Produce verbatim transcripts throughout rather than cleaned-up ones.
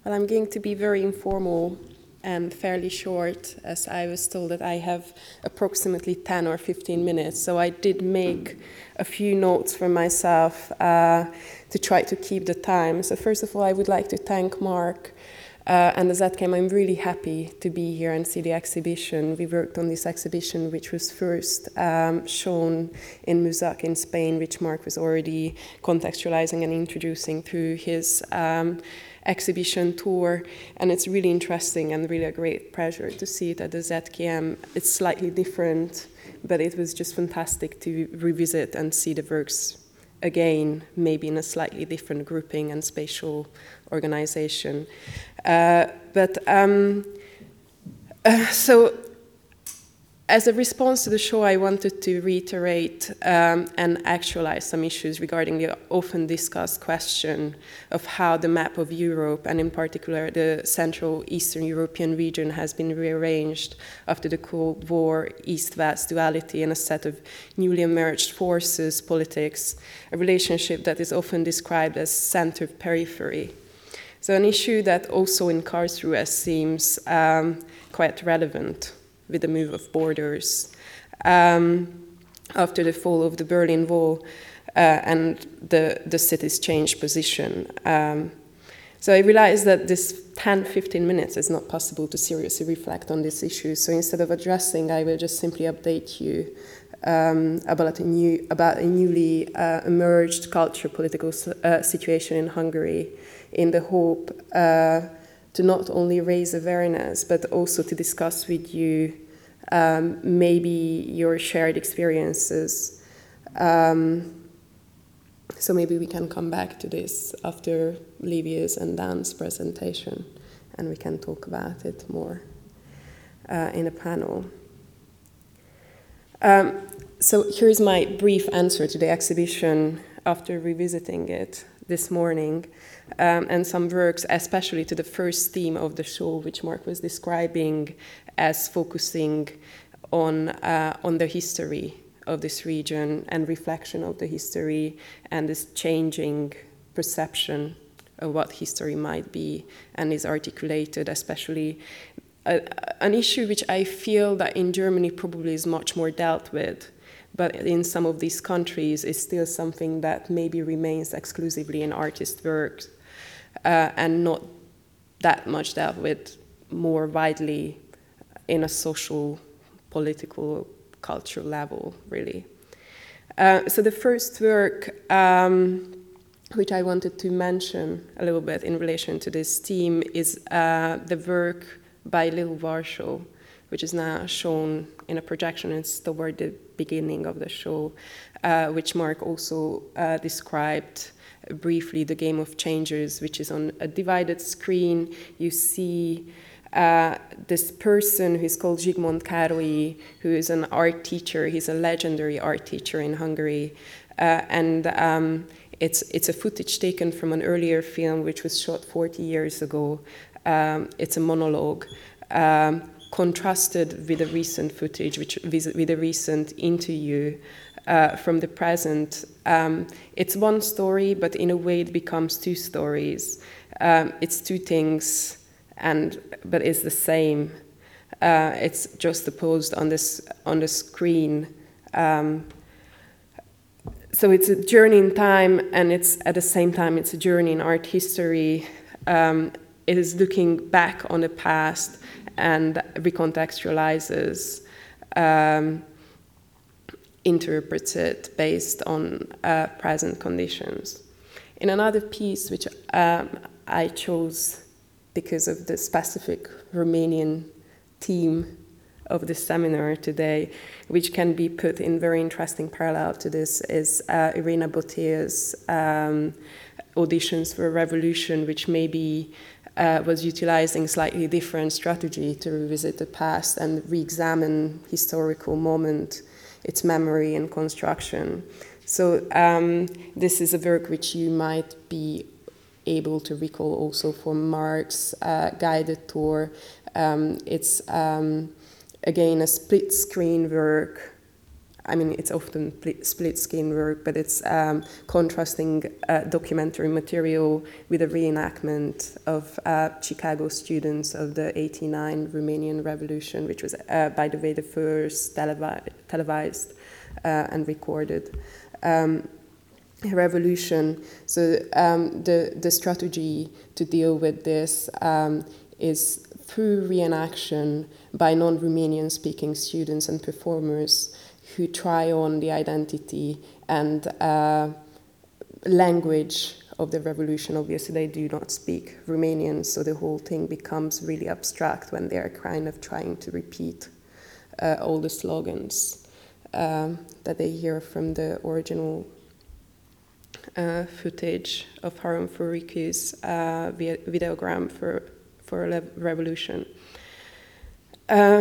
Well, I'm going to be very informal and fairly short, as I was told that I have approximately ten or fifteen minutes. So I did make a few notes for myself uh, to try to keep the time. So first of all, I would like to thank Mark uh, and the Z K M. I'm really happy to be here and see the exhibition. We worked on this exhibition, which was first um, shown in Musac in Spain, which Mark was already contextualizing and introducing through his um, exhibition tour, and it's really interesting and really a great pleasure to see it at the Z K M. It's slightly different, but it was just fantastic to revisit and see the works again, maybe in a slightly different grouping and spatial organization. Uh, but um, uh, so as a response to the show, I wanted to reiterate um, and actualize some issues regarding the often discussed question of how the map of Europe, and in particular the Central Eastern European region, has been rearranged after the Cold War East-West duality and a set of newly emerged forces, politics, a relationship that is often described as center-periphery. So an issue that also in Karlsruhe seems um, quite relevant with the move of borders um, after the fall of the Berlin Wall uh, and the, the city's changed position. Um, so I realized that this ten, fifteen minutes is not possible to seriously reflect on this issue. So instead of addressing, I will just simply update you um, about, a new, about a newly uh, emerged cultural political uh, situation in Hungary, in the hope uh, to not only raise awareness, but also to discuss with you um, maybe your shared experiences. Um, so maybe we can come back to this after Livia's and Dan's presentation, and we can talk about it more uh, in a panel. Um, so here's my brief answer to the exhibition after revisiting it this morning, um, and some works, especially to the first theme of the show, which Mark was describing as focusing on, uh, on the history of this region and reflection of the history and this changing perception of what history might be, and is articulated especially uh, an issue which I feel that in Germany probably is much more dealt with, but in some of these countries is still something that maybe remains exclusively in artist works uh, and not that much dealt with more widely in a social, political, cultural level, really. Uh, so the first work um, which I wanted to mention a little bit in relation to this theme is uh, the work by Lil Warsaw, which is now shown in a projection. It's toward the beginning of the show, uh, which Mark also uh, described briefly, The Game of Changers, which is on a divided screen. You see uh, this person who is called Zsigmond Károly, who is an art teacher. He's a legendary art teacher in Hungary. Uh, and um, it's, it's a footage taken from an earlier film, which was shot forty years ago. Um, it's a monologue. Um, contrasted with the recent footage, which with a recent interview uh, from the present. Um, it's one story, but in a way it becomes two stories. Um, it's two things, and but it's the same. Uh, it's juxtaposed on this on the screen. Um, so it's a journey in time, and it's at the same time it's a journey in art history. Um, it is looking back on the past and recontextualizes, um, interprets it based on uh, present conditions. In another piece, which um, I chose because of the specific Romanian theme of the seminar today, which can be put in very interesting parallel to this, is uh, Irina Botea's um, Auditions for a Revolution, which maybe Uh, was utilizing slightly different strategy to revisit the past and re-examine historical moment, its memory and construction. So um, this is a work which you might be able to recall also from Mark's uh, guided tour. Um, it's um, again a split screen work I mean, it's often split screen work, but it's um, contrasting uh, documentary material with a reenactment of uh, Chicago students of the eighty-nine Romanian Revolution, which was, uh, by the way, the first televi- televised uh, and recorded um, revolution. So um, the, the strategy to deal with this um, is through reenaction by non-Romanian speaking students and performers who try on the identity and uh, language of the revolution. Obviously, they do not speak Romanian, so the whole thing becomes really abstract when they're kind of trying to repeat uh, all the slogans um, that they hear from the original uh, footage of Harun Furiku's uh, videogram for for a revolution. Uh,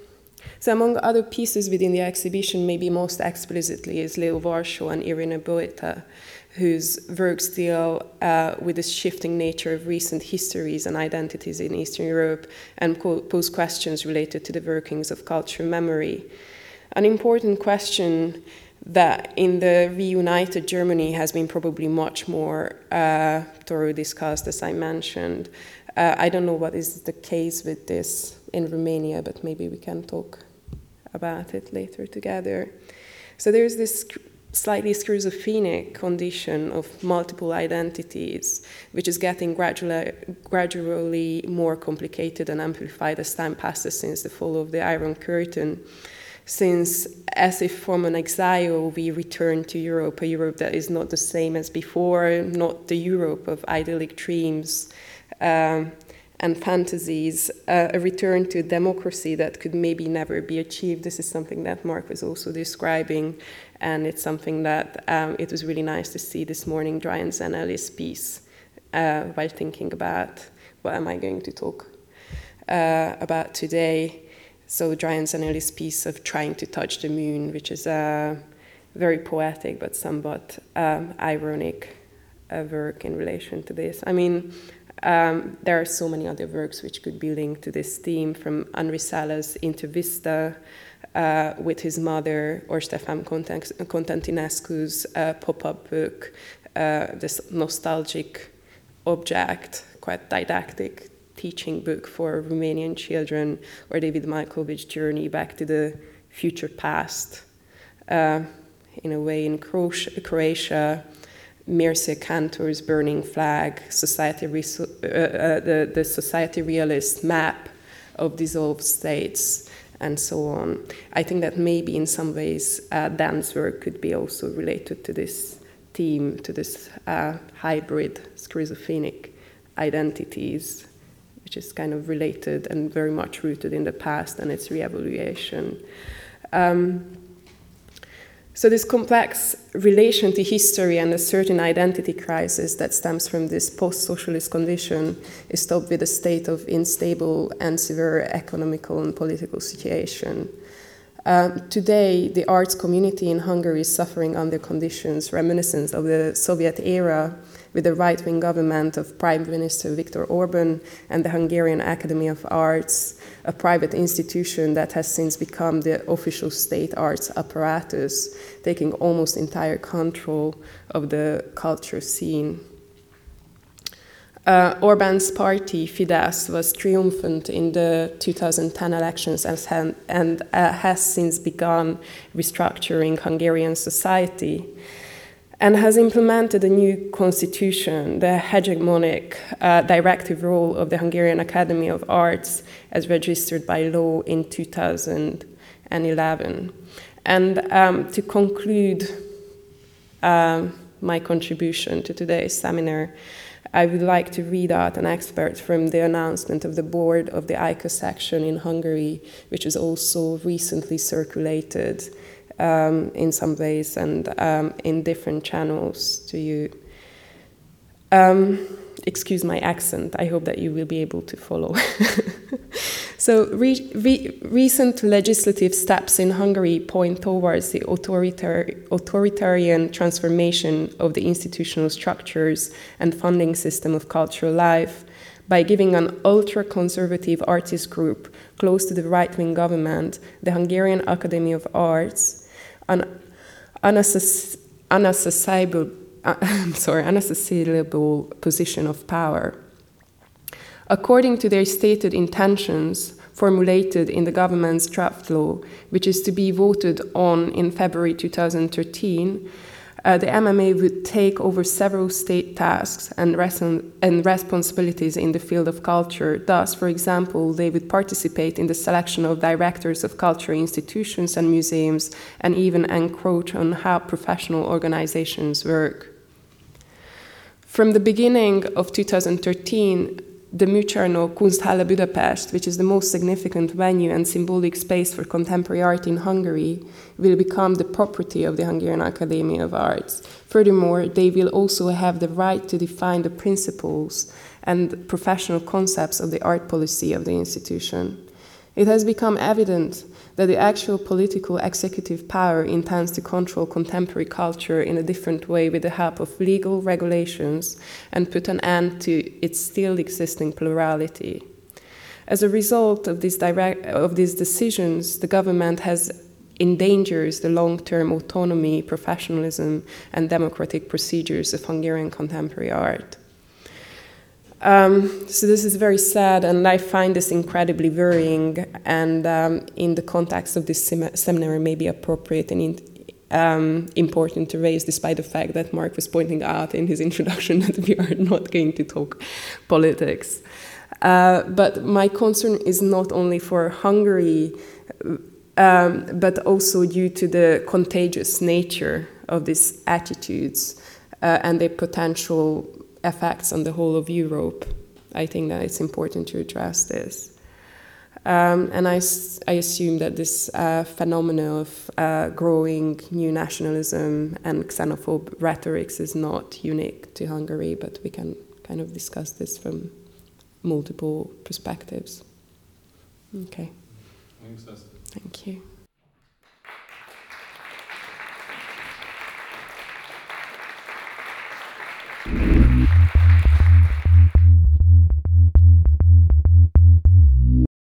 so among other pieces within the exhibition, maybe most explicitly is Leo Varsó and Irina Boeta, whose works deal uh, with the shifting nature of recent histories and identities in Eastern Europe and pose questions related to the workings of cultural memory. An important question that in the reunited Germany has been probably much more uh, thoroughly discussed, as I mentioned. Uh, I don't know what is the case with this in Romania, but maybe we can talk about it later together. So there's this slightly schizophrenic condition of multiple identities, which is getting gradually, gradually more complicated and amplified as time passes since the fall of the Iron Curtain. Since, as if from an exile, we return to Europe, a Europe that is not the same as before, not the Europe of idyllic dreams, Um, and fantasies, uh, a return to democracy that could maybe never be achieved. This is something that Mark was also describing, and it's something that um, it was really nice to see this morning, Dryan Zanelli's piece, uh, while thinking about what am I going to talk uh, about today. So Dryan Zanelli's piece of Trying to Touch the Moon, which is a very poetic but somewhat um, ironic uh, work in relation to this. I mean, Um, there are so many other works which could be linked to this theme, from Henri Sala's Intervista uh, with his mother, or Stefan Constantinescu's uh, pop-up book, uh, this nostalgic object, quite didactic teaching book for Romanian children, or David Malkovich's journey back to the future past, uh, in a way in Croatia, Mircea Cantor's Burning Flag, society uh, uh, the, the society realist map of dissolved states, and so on. I think that maybe in some ways uh, Dan's work could be also related to this theme, to this uh, hybrid schizophrenic identities, which is kind of related and very much rooted in the past and its re-evaluation. Um, So this complex relation to history and a certain identity crisis that stems from this post-socialist condition is topped with a state of unstable and severe economical and political situation. Uh, today, the arts community in Hungary is suffering under conditions reminiscent of the Soviet era, with the right-wing government of Prime Minister Viktor Orban and the Hungarian Academy of Arts, a private institution that has since become the official state arts apparatus, taking almost entire control of the culture scene. Uh, Orban's party, Fidesz, was triumphant in the two thousand ten elections and, and uh, has since begun restructuring Hungarian society, and has implemented a new constitution, the hegemonic uh, directive role of the Hungarian Academy of Arts, as registered by law in two thousand eleven. And um, to conclude um, my contribution to today's seminar, I would like to read out an excerpt from the announcement of the board of the I C A section in Hungary, which was also recently circulated Um, in some ways and um, in different channels to you. Um, excuse my accent, I hope that you will be able to follow. So re re recent legislative steps in Hungary point towards the authoritar authoritarian transformation of the institutional structures and funding system of cultural life by giving an ultra-conservative artist group close to the right-wing government, the Hungarian Academy of Arts, an unassess- unaccessible, uh, I'm sorry, unaccessible position of power. According to their stated intentions, formulated in the government's draft law, which is to be voted on in February two thousand thirteen, uh, the M M A would take over several state tasks and, res- and responsibilities in the field of culture. Thus, for example, they would participate in the selection of directors of cultural institutions and museums, and even encroach on how professional organizations work. From the beginning of two thousand thirteen, the Műcsarnok Kunsthalle Budapest, which is the most significant venue and symbolic space for contemporary art in Hungary, will become the property of the Hungarian Academy of Arts. Furthermore, they will also have the right to define the principles and professional concepts of the art policy of the institution. It has become evident that the actual political executive power intends to control contemporary culture in a different way with the help of legal regulations and put an end to its still existing plurality. As a result of, this direct, of these decisions, the government has endangers the long-term autonomy, professionalism, and democratic procedures of Hungarian contemporary art. Um, so this is very sad, and I find this incredibly worrying, and um, in the context of this sem- seminar it may be appropriate and in, um, important to raise, despite the fact that Mark was pointing out in his introduction that we are not going to talk politics. Uh, but my concern is not only for Hungary, um, but also due to the contagious nature of these attitudes uh, and their potential effects on the whole of Europe. I think that it's important to address this. Um, and I, I assume that this uh, phenomenon of uh, growing new nationalism and xenophobe rhetorics is not unique to Hungary, but we can kind of discuss this from multiple perspectives. Okay. Thanks, Esther. Thank you. Thank you.